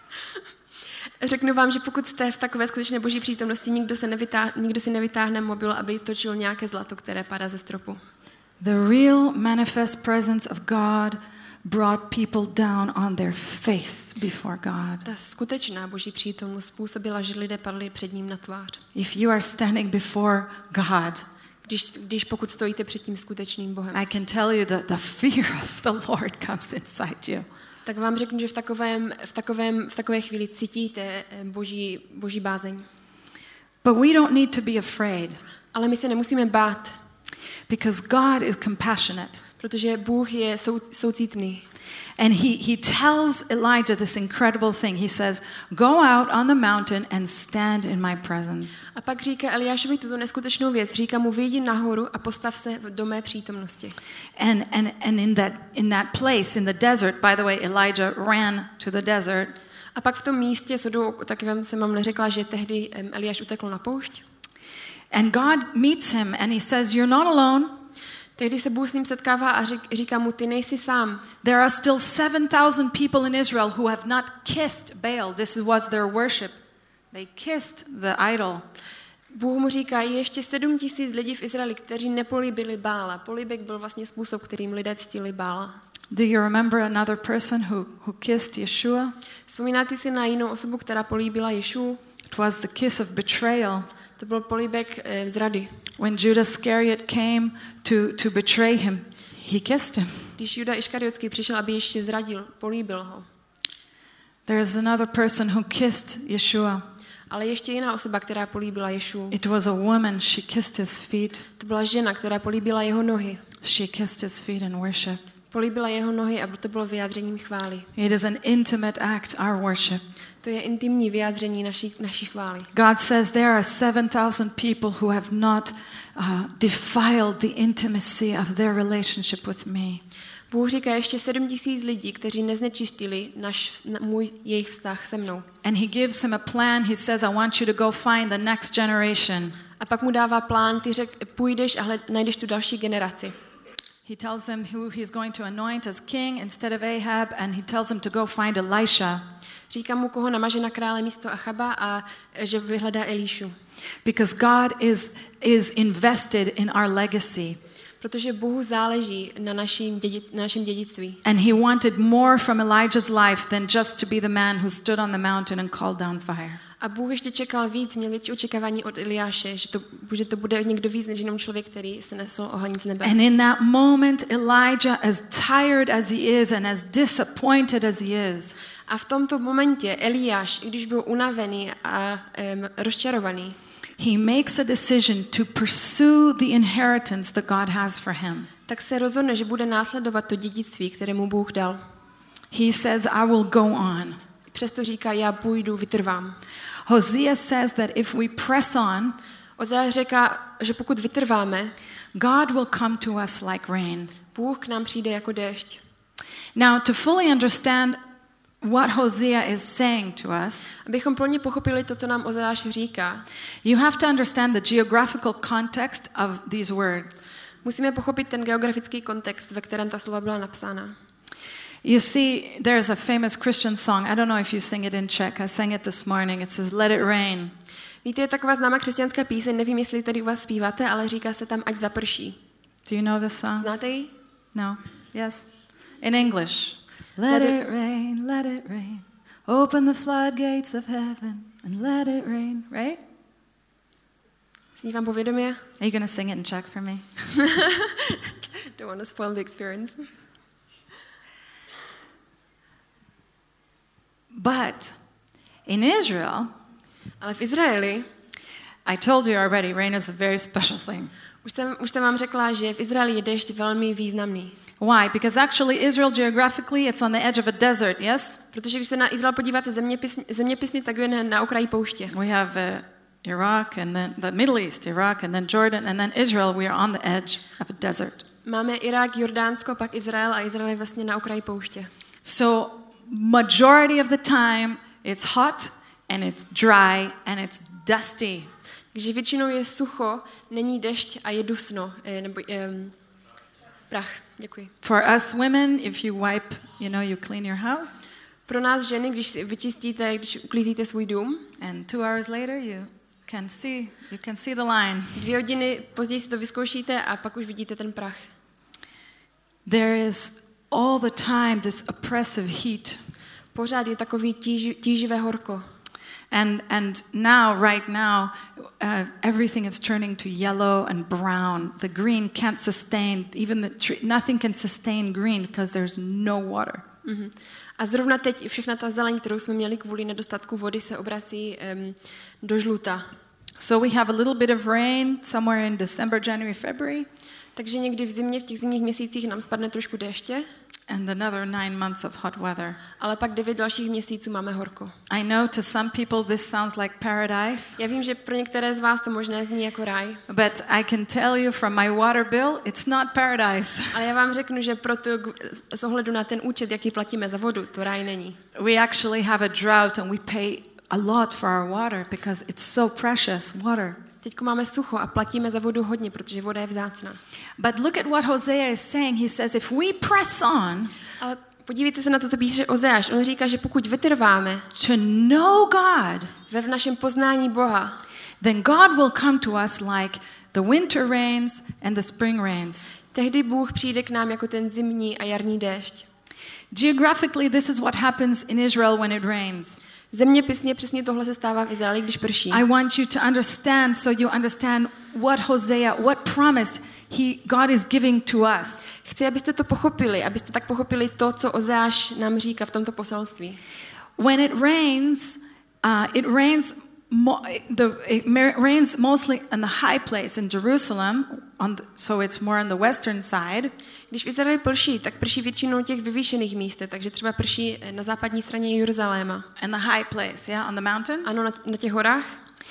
Řeknu vám, že pokud jste v takové skutečné boží přítomnosti, nikdo, se nevytáhne, nikdo si nevytáhne mobil, aby točil nějaké zlato, které padá ze stropu. The real manifest presence of God brought people down on their face before God. Ta skutečná boží přítomnost způsobila, že lidé padli před ním na tvář. If you are standing before God, Když, když pokud stojíte před tím skutečným Bohem, I can tell you that the fear of the Lord comes inside you. tak vám řeknu, že v, takovém, v, takovém, v takové chvíli cítíte eh, boží, boží bázeň. But we don't need to be afraid Ale my se nemusíme bát, because God is compassionate. protože Bůh je sou, soucítný. And he, he tells Elijah this incredible thing. He says, "Go out on the mountain and stand in my presence." A pak říká Eliášovi tuto neskutečnou věc. Říká mu, vyjdi nahoru a postav se do mé přítomnosti. And, and, and in, that, in that place, in the desert, by the way, Elijah ran to the desert. A pak v tom místě, shodou takovém jsem vám neřekla, že tehdy em, Eliáš utekl na poušť. And God meets him and he says, "You're not alone. Tehdy se Bůh s ním setkává a řík, říká mu, ty nejsi sám. There are still seven thousand people in Israel who have not kissed Baal. This was their worship. They kissed the idol." Bůh mu říká, je ještě sedm tisíc lidí v Izraeli, kteří nepolíbili Bála. Políbek byl vlastně způsob, kterým lidé ctili Bála. Do you remember another person who, who kissed Yeshua? Vzpomínáte si na jinou osobu, která políbila Ješu? It was the kiss of betrayal. To byl políbek e, zrady. When Judas Iscariot came to, to betray him, he kissed him. Když Juda Iškariotský přišel, aby ještě zradil, políbil ho. There is another person who kissed Yeshua. Ale ještě jiná osoba, která políbila Ješu. It was a woman. She kissed his feet. To byla žena, která políbila jeho nohy. She kissed his feet in worship. Políbila jeho nohy a to bylo vyjádřením chvály. It is an intimate act, our worship. To je intimní vyjádření naší, naší chvály. God says there are seven thousand people who have not uh, defiled the intimacy of their relationship with me. Bůh říká ještě sedm tisíc lidí, kteří neznečistili náš, můj, jejich vztah se mnou. And he gives him a plan. He says, I want you to go find the next generation. A pak mu dává plán, ty řek, půjdeš a hled, najdeš tu další generaci. He tells him who he's going to anoint as king instead of Ahab, and he tells him to go find Elisha. Říká mu, koho namaže na krále místo Achaba a že vyhledá Elíšu. Because God is, is invested in our legacy. Protože Bohu záleží na našem, dědic, na našem dědictví. And he wanted more from Elijah's life than just to be the man who stood on the mountain and called down fire. A Bůh ještě čekal víc, měl větší očekávání od Eliáše, že to, že to bude někdo víc než jenom člověk, který se nesl oheň z nebe. And in that moment, Elijah, as tired as he is and as disappointed as he is, A v tomto momentě Eliáš, i když byl unavený a um, rozčarovaný, he makes a decision to pursue the inheritance that God has for him. tak se rozhodne, že bude následovat to dědictví, které mu Bůh dal. He says, I will go on. Přesto říká, já půjdu, vytrvám. Hosea says that if we press on, Ozea říká, že pokud vytrváme, God will come to us like rain. Bůh k nám přijde jako déšť. Now, to fully understand what Hosea is saying to us, Abychom plně pochopili to, co nám Ozeáš říká, you have to understand the geographical context of these words. musíme pochopit ten geografický kontext, ve kterém ta slova byla napsána. You see, there's a famous Christian song. I don't know if you sing it in Czech. I sang it this morning. It says, let it rain. Víte, je taková známá křesťanská píseň, nevím, jestli tady u vás zpíváte, ale říká se tam, ať zaprší. Do you know this song? Znáte ji? No? Yes? In English. Let it rain, let it rain. Open the floodgates of heaven and let it rain. Right? Zní vám povědomě? Are you going to sing it in Czech for me? Don't want to spoil the experience. But in Israel, Ale v Izraeli, I told you already, rain is a very special thing. už jsem, už jsem vám řekla, že v Izraeli je déšť velmi významný. Why? Because actually Israel geographically, it's on the edge of a desert, yes? Protože když se na Izrael podíváte zeměpisně, zeměpisně tak je na okraji pouště. We have uh, Iraq and then the Middle East, Iraq and then Jordan and then Israel. We are on the edge of a desert. Máme Irák, Jordánsko, pak Izrael a Izrael je vlastně na okraji pouště. So majority of the time it's hot and it's dry and it's dusty. Takže většinou je sucho, není dešť a je dusno, eh, nebo um, prach. Děkuji. For us women, if you wipe, you know, you clean your house. Pro nás ženy, když si vyčistíte, když uklízíte svůj dům, And two hours later, you can see you can see the line. dvě hodiny později si to vyzkoušíte a pak už vidíte ten prach. There is all the time this oppressive heat. Pořád je takový tíži, tíživé horko. And and now, right now, uh, everything is turning to yellow and brown. The green can't sustain, even the tree, nothing can sustain green because there's no water. Mm-hmm. A zrovna teď všechna ta zeleň, kterou jsme měli kvůli nedostatku vody, se obrací um, do žluta. So we have a little bit of rain somewhere in December, January, February. Takže někdy v zimě, v těch zimních měsících nám spadne trošku déště, And another nine months of hot weather. ale pak devět dalších měsíců máme horko. I know to some people this sounds like paradise, Já vím, že pro některé z vás to možná zní jako ráj, but I can tell you from my water bill, it's not paradise. ale já vám řeknu, že proto z ohledu na ten účet, jaký platíme za vodu, to ráj není. We actually have a drought and we pay a lot for our water because it's so precious, water. Teď máme sucho a platíme za vodu hodně, protože voda je vzácná. But look at what Hosea is saying. He says, if we press on Ale podívejte se na to, co píše Ozeáš. On říká, že pokud vytrváme to know God, ve v našem poznání Boha, then God will come to us like the winter rains and the spring rains. Tehdy Bůh přijde k nám jako ten zimní a jarní déšť. Geographically, this is what happens in Israel when it rains. Zeměpisně přesně tohle se stává v Izraeli, když prší. I want you to understand so you understand what Hosea, what promise he, God is giving to us. Chci, abyste to pochopili, abyste tak pochopili to, co Ozeáš nám říká v tomto poselství. When it rains, uh, it rains mo- the it mer- rains mostly in the high place in Jerusalem, on the, so it's more on the western side. Když v Izraeli prší, tak prší většinou těch vyvýšených míst, takže třeba prší na západní straně Jeruzaléma. In the high place, yeah, on the mountains. Ano, na, na těch horách.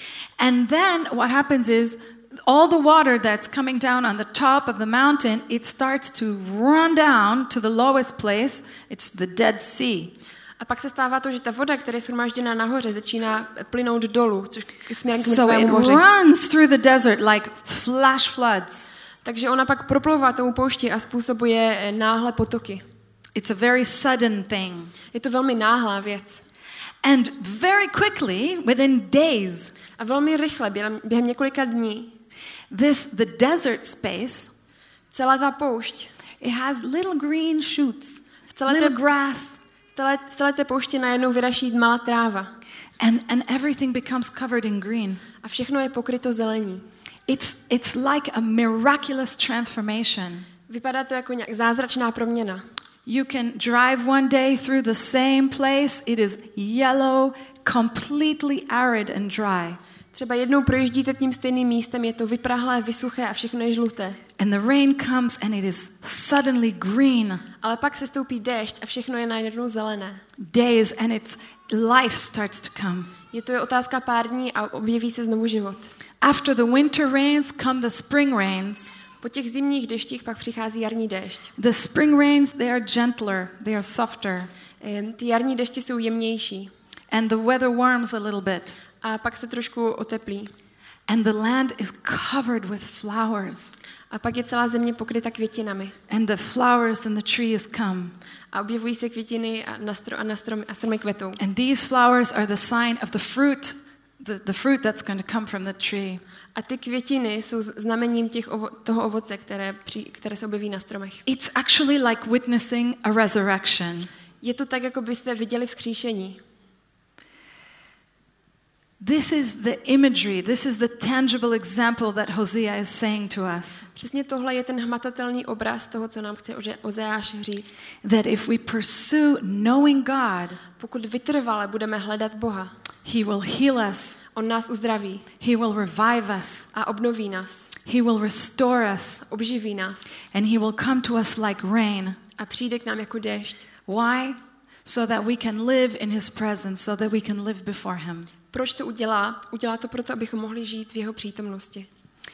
And then what happens is all the water that's coming down on the top of the mountain, it starts to run down to the lowest place. It's the Dead Sea. A pak se stává to, že ta voda, která je shromážděná nahoře, začíná plynout dolů, což směrem k So it Mrtvému moři. runs through the desert like flash floods. Takže ona pak proplouvá tomu poušti a způsobuje náhle potoky. It's a very sudden thing. Je to velmi náhlá věc. And very quickly, within days, A velmi rychle, během, během několika dní, this the desert space, celá ta poušť, it has little green shoots, v celé, little té, grass, v, celé, v celé té poušti najednou vyraší malá tráva. and, and everything becomes covered in green. A všechno je pokryto zelení. It's, it's like a miraculous transformation. Vypadá to jako nějak zázračná proměna. You can drive one day through the same place. It is yellow, completely arid and dry. Třeba jednou projíždíte tím stejným místem, je to vyprahlé, vysuché a všechno je žluté. And the rain comes and it is suddenly green. Ale pak se stoupí déšť a všechno je najednou zelené. Days and it's life starts to come. Je to je otázka pár dní a objeví se znovu život. After the winter rains come the spring rains. Po těch zimních deštích pak přichází jarní déšť. The spring rains, they are gentler, they are softer. Ehm, Ty jarní deště jsou jemnější And the weather warms a little bit. a pak se trošku oteplí. And the land is covered with flowers. A pak je celá země pokryta květinami. And the flowers and the trees come. A objevují se květiny a, na stro, a, na stromy, a stromy kvetou. And these flowers are the sign of the fruit, the, the fruit that's going to come from the tree. A ty květiny jsou znamením těch ovo, toho ovoce, které, při, které se objeví na stromech. It's actually like witnessing a resurrection. Je to tak, jako byste viděli vzkříšení. This is the imagery, this is the tangible example that Hosea is saying to us. Přesně tohle je ten hmatatelný obraz toho, co nám chce Ozeáš říct. That if we pursue knowing God, Pokud vytrvale budeme hledat Boha, He will heal us, on nás uzdraví He will revive us, a obnoví nás, He will restore us, obživí nás and He will come to us like rain. a přijde k nám jako déšť. Why? So that we can live in His presence, so that we can live before Him. Proč to udělá? Udělá to proto, abychom mohli žít v jeho přítomnosti.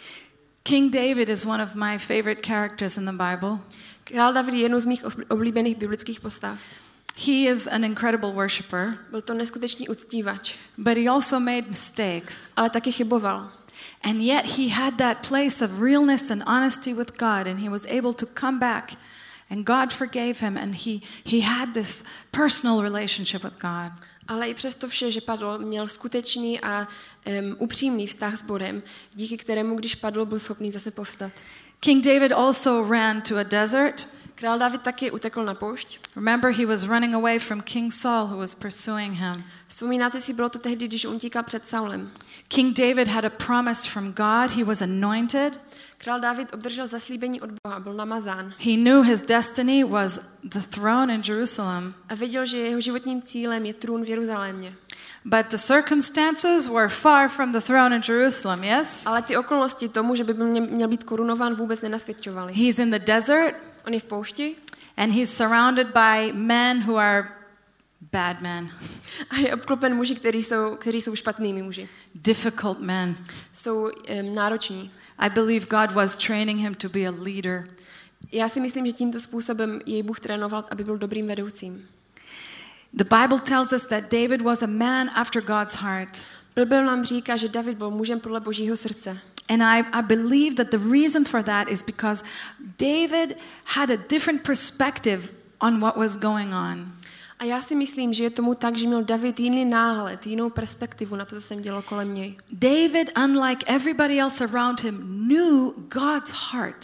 King David is one of my favorite characters in the Bible. Král David je jednou z mých oblíbených biblických postav. He is an incredible worshipper, Byl to neskutečný uctívač, but he also made mistakes. ale taky chyboval. And yet he had that place of realness and honesty with God, and he was able to come back, and God forgave him, and he, he had this personal relationship with God. Ale i přesto vše, že padl, měl skutečný a um, upřímný vztah s Bodem, díky kterému, když padl, byl schopný zase povstat. King David also ran to a desert. Král David taky utekl na poušť. Remember, he was running away from King Saul, who was pursuing him. Vzpomínáte si, bylo to tehdy, když on utíkal před Saulem. King David had a promise from God. He was anointed. Král David obdržel zaslíbení od Boha, byl namazán. He knew his destiny was the throne in Jerusalem. A věděl, že jeho životním cílem je trůn v Jeruzalémě. But the circumstances were far from the throne in Jerusalem, yes? Ale ty okolnosti tomu, že by měl být korunován, vůbec nenasvědčovaly. He's in the desert, On je v poušti and he's surrounded by men who are bad men, a je obklopen muži, kteří jsou, kteří jsou špatnými muži. difficult men. Jsou um, nároční. I believe God was training him to be a leader. Já si myslím, že tímto způsobem jej Bůh trénoval, aby byl dobrým vedoucím. The Bible tells us that David was a man after God's heart. Bible nám říká, že David byl mužem podle Božího srdce. And I, I believe that the reason for that is because David had a different perspective on what was going on. A já si myslím, že je tomu tak, že měl David jiný náhled, jinou perspektivu na to, co se dělo kolem něj. David, unlike everybody else around him, knew God's heart.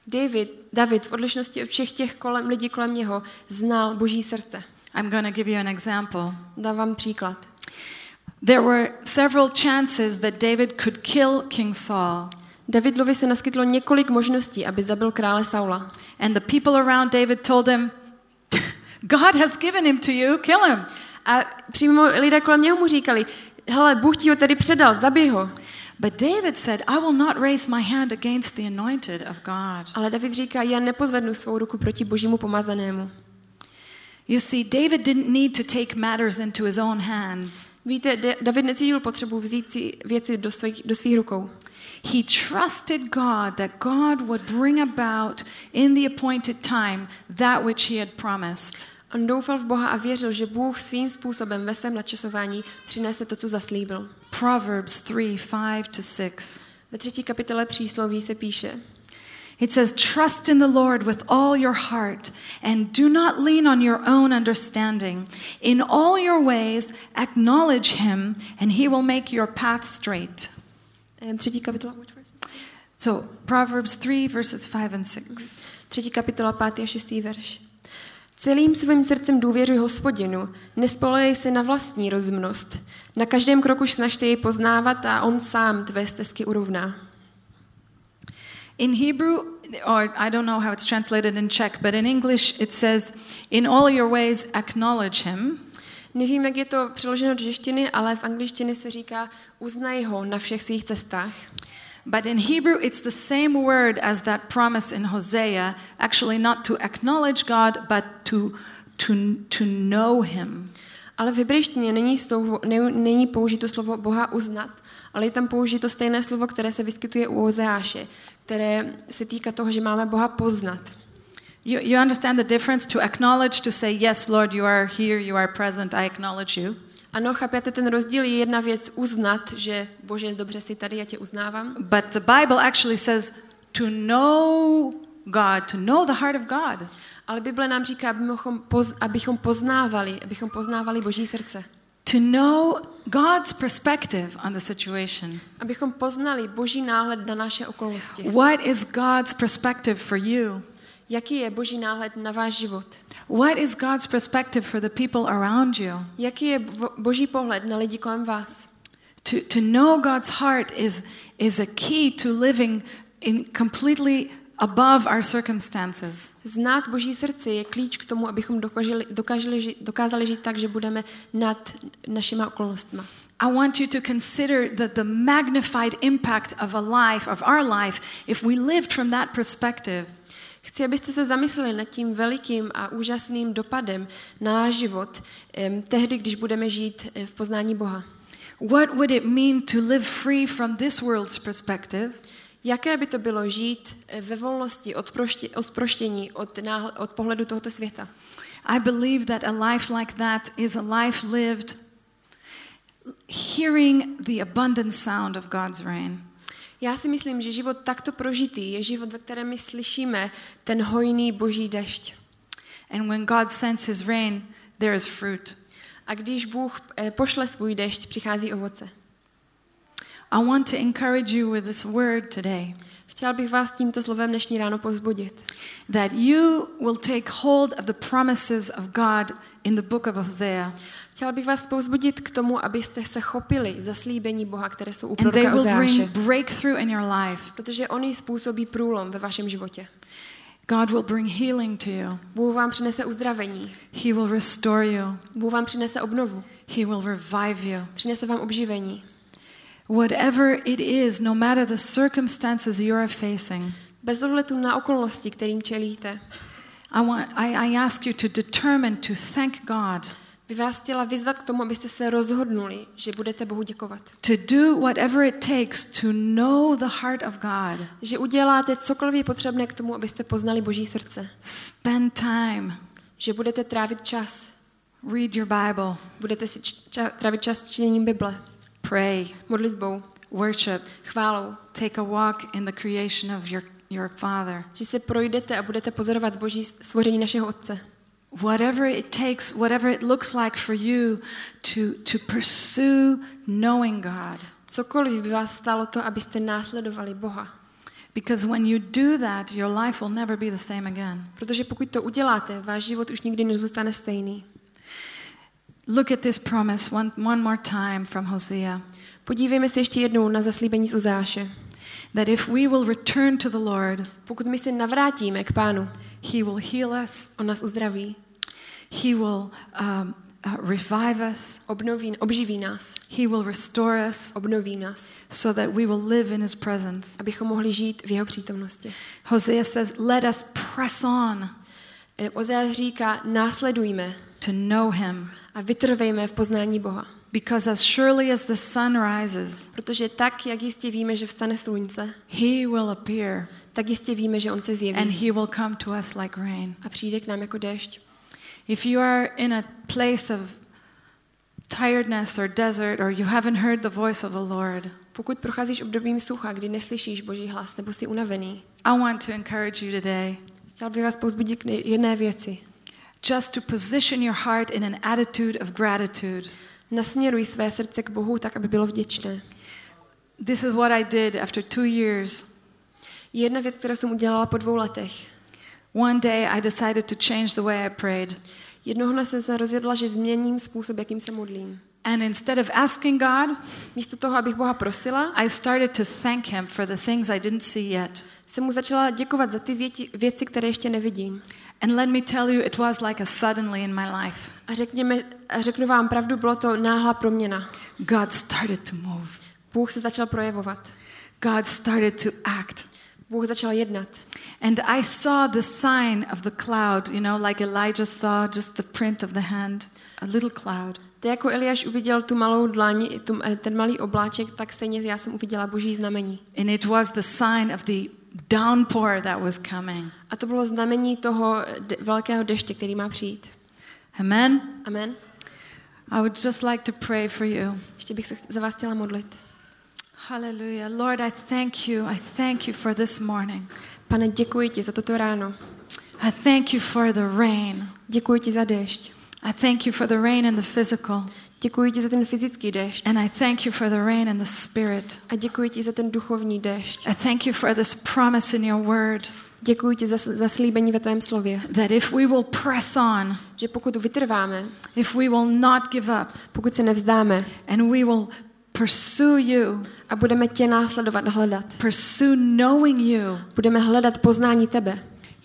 David, David v odlišnosti od všech těch kolem, lidí kolem něho znal Boží srdce. I'm going to give you an example. Dám vám příklad. There were several chances that David could kill King Saul. Davidovi se naskytlo několik možností, aby zabil krále Saula. And the people around David told him, God has given him to you, kill him. A přímo lidé kolem něho mu říkali, hele, Bůh ti ho tady předal, zabij ho. But David said, I will not raise my hand against the anointed of God. Ale David říká, já nepozvednu svou ruku proti Božímu pomazanému. You see, David didn't need to take matters into his own hands. Víte, David necítil potřebu vzít si věci do svých, do svých rukou. He trusted God that God would bring about in the appointed time that which he had promised. On doufal v Boha a věřil, že Bůh svým způsobem ve svém načasování přinese to, co zaslíbil. Proverbs three, five to six. Ve třetí kapitole přísloví se píše: It says, trust in the Lord with all your heart and do not lean on your own understanding. In all your ways acknowledge him and he will make your path straight. Třetí kapitola. So, Proverbs three, verses five and six. Třetí kapitola, pátý a šestý verš. Celým svým srdcem důvěřuj Hospodinu, nespolehej se na vlastní rozumnost. Na každém kroku snažte jej poznávat a on sám tvé stezky urovná. In Hebrew, or I don't know how it's translated in Czech, but in English it says, in all your ways acknowledge him. Nevím, jak je to přeloženo do češtiny, ale v angličtině se říká uznaj ho na všech svých cestách. But in Hebrew it's the same word as that promise in Hosea, actually not to acknowledge God, but to, to, to know him. Ale v hebrejštině není, slovo, ne, není použito slovo Boha uznat, ale je tam použito stejné slovo, které se vyskytuje u Ozeáše, které se týká toho, že máme Boha poznat. You, you understand the difference to acknowledge, to say, yes, Lord, you are here, you are present, I acknowledge you. Ano, chápete, ten rozdíl je jedna věc uznat, že Bože, dobře jsi tady, já tě uznávám. But the Bible actually says to know God, to know the heart of God. Ale Bible nám říká, abychom, poz, abychom poznávali, abychom poznávali Boží srdce. To know God's perspective on the situation. Abychom poznali Boží náhled na naše okolnosti. What is God's perspective for you? Jaký je Boží náhled na váš život? What is God's perspective for the people around you? Jaký je Boží pohled na lidi kolem vás? To, to know God's heart is, is a key to living in completely above our circumstances. Znát Boží srdce je klíč k tomu, abychom dokázali, dokázali, dokázali žít tak, že budeme nad našima okolnostmi. I want you to consider the, the magnified impact of a life, of our life, if we lived from that perspective. Chci, abyste se zamysleli nad tím velikým a úžasným dopadem na náš život um, tehdy, když budeme žít v poznání Boha. What would it mean to live free from this world's perspective? Jaké by to bylo žít ve volnosti od, proště, od proštění, od, náhle, od pohledu tohoto světa? I believe that a life like that is a life lived hearing the abundant sound of God's rain. Já si myslím, že život takto prožitý je život, ve kterém my slyšíme ten hojný Boží dešť. And when God sends his rain, there is fruit. A když Bůh pošle svůj dešť, přichází ovoce. I want to encourage you with this word today. Chtěla bych vás tímto slovem dnešní ráno povzbudit. That you will take hold of the promises of God in the book of Hosea. Chtěla bych vás povzbudit k tomu, abyste se chopili zaslíbení Boha, které jsou u And they proroka will Ozeáše. bring breakthrough in your life. Protože oni způsobí průlom ve vašem životě. God will bring healing to you. Bůh vám přinese uzdravení. He will restore you. Bůh vám přinese obnovu. He will revive you. Přinese vám obživení. Whatever it is, no matter the circumstances you are facing. Bez ohledu na okolnosti, kterým čelíte. I want I, I ask you to determine to thank God. Bych vás chtěla vyzvat k tomu, abyste se rozhodnuli, že budete Bohu děkovat. To do whatever it takes to know the heart of God. Že uděláte cokoliv je potřebné k tomu, abyste poznali Boží srdce. Spend time. Že budete trávit čas. Read your Bible. Budete si ča- trávit čas čtením Bible. Pray. Modlitbou. Worship. Chválou. Take a walk in the creation of your, your Father. Že se projdete a budete pozorovat Boží stvoření našeho Otce. Whatever it takes, whatever it looks like for you to, to pursue knowing God. Cokoliv by vás stálo to, abyste následovali Boha. Because when you do that, your life will never be the same again. Protože pokud to uděláte, váš život už nikdy nezůstane stejný. Look at this promise one, one more time from Hosea. Podívejme se ještě jednou na zaslíbení z Ozáše. That if we will return to the Lord, Pokud my se navrátíme k Pánu, He will heal us, on nás uzdraví, He will um, uh, revive us, obnoví, obživí nás, He will restore us, obnoví nás, so that we will live in His presence. abychom mohli žít v jeho přítomnosti. Hosea says, let us press on Eh, Ozáš říká, následujme to know Him, a vytrvejme v poznání Boha. because as surely as the sun rises, Protože tak, jak jistě víme, že vstane slunce, He will appear, tak jistě víme, že on se and zjeví He will come to us like rain. a přijde k nám jako déšť. If you are in a place of tiredness or desert, or you haven't heard the voice of the Lord, Pokud procházíš obdobím sucha, kdy neslyšíš Boží hlas nebo jsi unavený, I want to encourage you today chtěl bych vás povzbudit k jedné věci. just to position your heart in an attitude of gratitude. Nasměruj své srdce k Bohu tak, aby bylo vděčné. This is what I did after two years. Jedna věc, kterou jsem udělala po dvou letech. One day I decided to change the way I prayed. Jednoho dne jsem se rozjedla, že změním způsob, jakým se modlím. And instead of asking God, Místo toho, abych Boha prosila, I started to thank Him for the things I didn't see yet. jsem mu začala děkovat za ty věti, věci, které ještě nevidím. And let me tell you, it was like a suddenly in my life. A, řekněme, a řeknu vám pravdu, bylo to náhlá proměna. God started to move. Bůh se začal projevovat. God started to act. Bůh začal jednat. And I saw the sign of the cloud, you know, like Elijah saw just the print of the hand, a little cloud. Tak jako Eliáš uviděl tu malou dlaň, tu, ten malý obláček, tak stejně já jsem uviděla Boží znamení. And it was the sign of the downpour that was coming. A to bylo znamení toho de- velkého deště, který má přijít. Amen? Amen. I would just like to pray for you. Ještě bych se za vás chtěla modlit. Hallelujah. Lord, I thank you. I thank you for this morning. Pane, děkuji ti za toto ráno. I thank you for the rain. Děkuji ti za déšť. I thank you for the rain in the physical. Děkuji ti za ten fyzický déšť. And I thank you for the rain in the spirit. A děkuji ti za ten duchovní déšť. I thank you for this promise in your word Děkuji ti za, za slíbení ve tvém slově. that if we will press on, Že pokud vytrváme, if we will not give up, pokud se nevzdáme and we will pursue you, a budeme tě následovat a hledat, pursue knowing you, budeme hledat poznání tebe,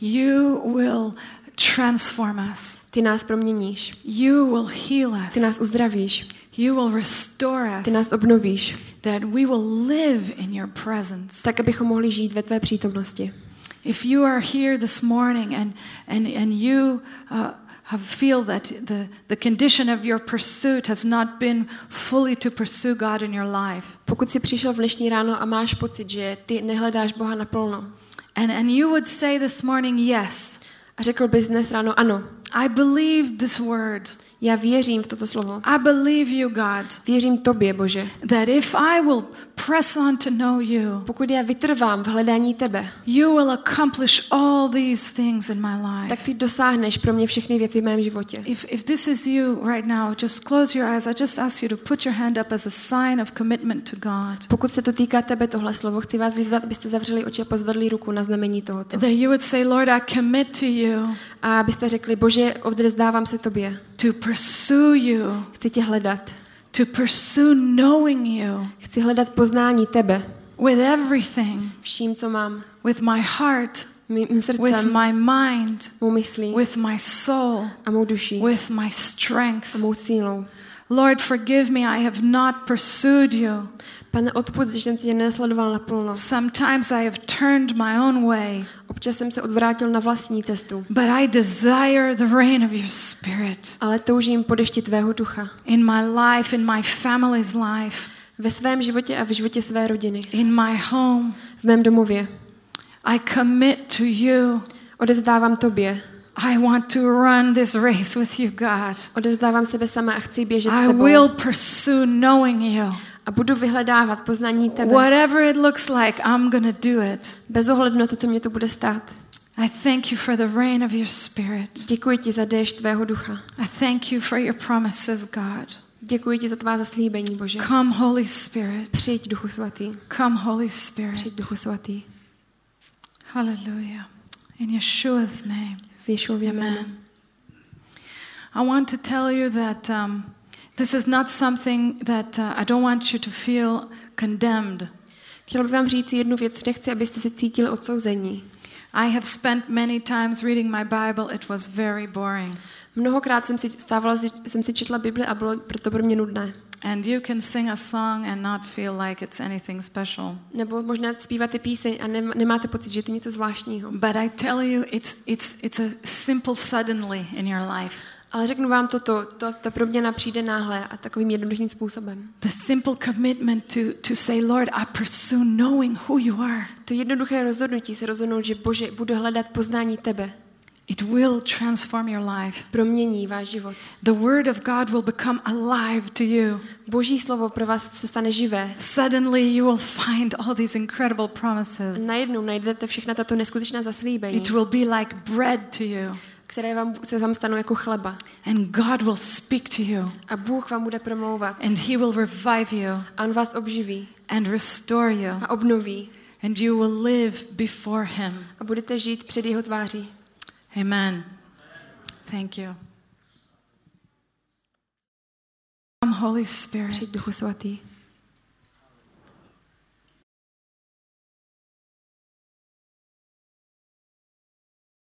you will transform us. ty nás proměníš, You will heal us. ty nás uzdravíš, You will restore ty us. nás obnovíš, That we will live in your presence. tak abychom mohli žít ve tvé přítomnosti. If you are here this morning and and and you uh, have feel that the the condition of your pursuit has not been fully to pursue God in your life, Pokud jsi přišel v dnešní ráno a máš pocit, že ty nehledáš Boha naplno, and and you would say this morning, yes, a řekl bys dnes ráno, ano, I believe this word. já věřím v toto slovo, I believe you, God, věřím tobě, Bože. that if I will press on to know you, Pokud já vytrvám v hledání tebe, you will accomplish all these things in my life. tak ty dosáhneš pro mě všechny věci v mém životě. If if this is you right now, just close your eyes. I just ask you to put your hand up as a sign of commitment to God. Pokud se to týká tebe tohle slovo, chci vás vyzvat, abyste zavřeli oči a pozvedli ruku na znamení tohoto. That you would say, Lord, I commit to you A abyste řekli, Bože, odevzdávám se tobě. to pursue you, Chci tě hledat. to pursue knowing you Chci hledat poznání tebe. with everything, Vším, co mám. with my heart, Mým with srdcem, my mind, mou myslí with my soul, a mou duší with my strength. a mou sílou. Lord, forgive me, I have not pursued you. Pane, odpusť, že jsem tě nesledoval naplno. Sometimes I have turned my own way, Občas jsem se odvrátil na vlastní cestu, but I desire the rain of your spirit ale toužím po dešti tvého ducha. in my life, in my family's life, Ve svém životě a v životě své rodiny. in my home. V mém domově. I commit to you. Odevzdávám tobě. I want to run this race with you, God. Odevzdávám sebe sama a chci běžet s I tebou. will pursue knowing you. A budu vyhledávat poznání tebe. Whatever it looks like, I'm going to do it. Bez ohledu na to, co mě to bude stát. I thank you for the rain of your spirit. Děkuji ti za déšť tvého ducha. I thank you for your promises, God. Děkuji ti za tvá zaslíbení, Bože. Come, Holy Spirit. Přijď, Duchu svatý. Come, Holy Spirit. Přijď, Duchu svatý. Hallelujah. In Yeshua's name. V Ješuově jménu. Amen. I want to tell you that um, this is not something that uh, I don't want you to feel condemned. Chtěla bych vám říct jednu věc, nechci, abyste se cítili odsouzení. I have spent many times reading my Bible. It was very boring. Mnohokrát jsem si stávala, jsem si četla Bibli a bylo proto pro mě nudné. And you can sing a song and not feel like it's anything special. Nebo možná zpíváte píseň a nem, nemáte pocit, že je to něco zvláštního. But I tell you, it's it's it's a simple suddenly in your life. Ale řeknu vám toto, to, ta proměna přijde náhle a takovým jednoduchým způsobem. The simple commitment to to say, Lord, I pursue knowing who you are. To jednoduché rozhodnutí se rozhodnout, že Bože, budu hledat poznání tebe. It will transform your life. Promění váš život. The word of God will become alive to you. Boží slovo pro vás se stane živé. Suddenly you will find all these incredible promises. Najednou najdete všechna tato neskutečná zaslíbení, It will be like bread to you. které vám, se vám stanou jako chleba. And God will speak to you. A Bůh vám bude promlouvat. And he will revive you A on vás obživí and restore you. a obnoví. And you will live before him. A budete žít před jeho tváří. Amen. Thank you. Come, Holy Spirit. Přijď, Duchu svatý.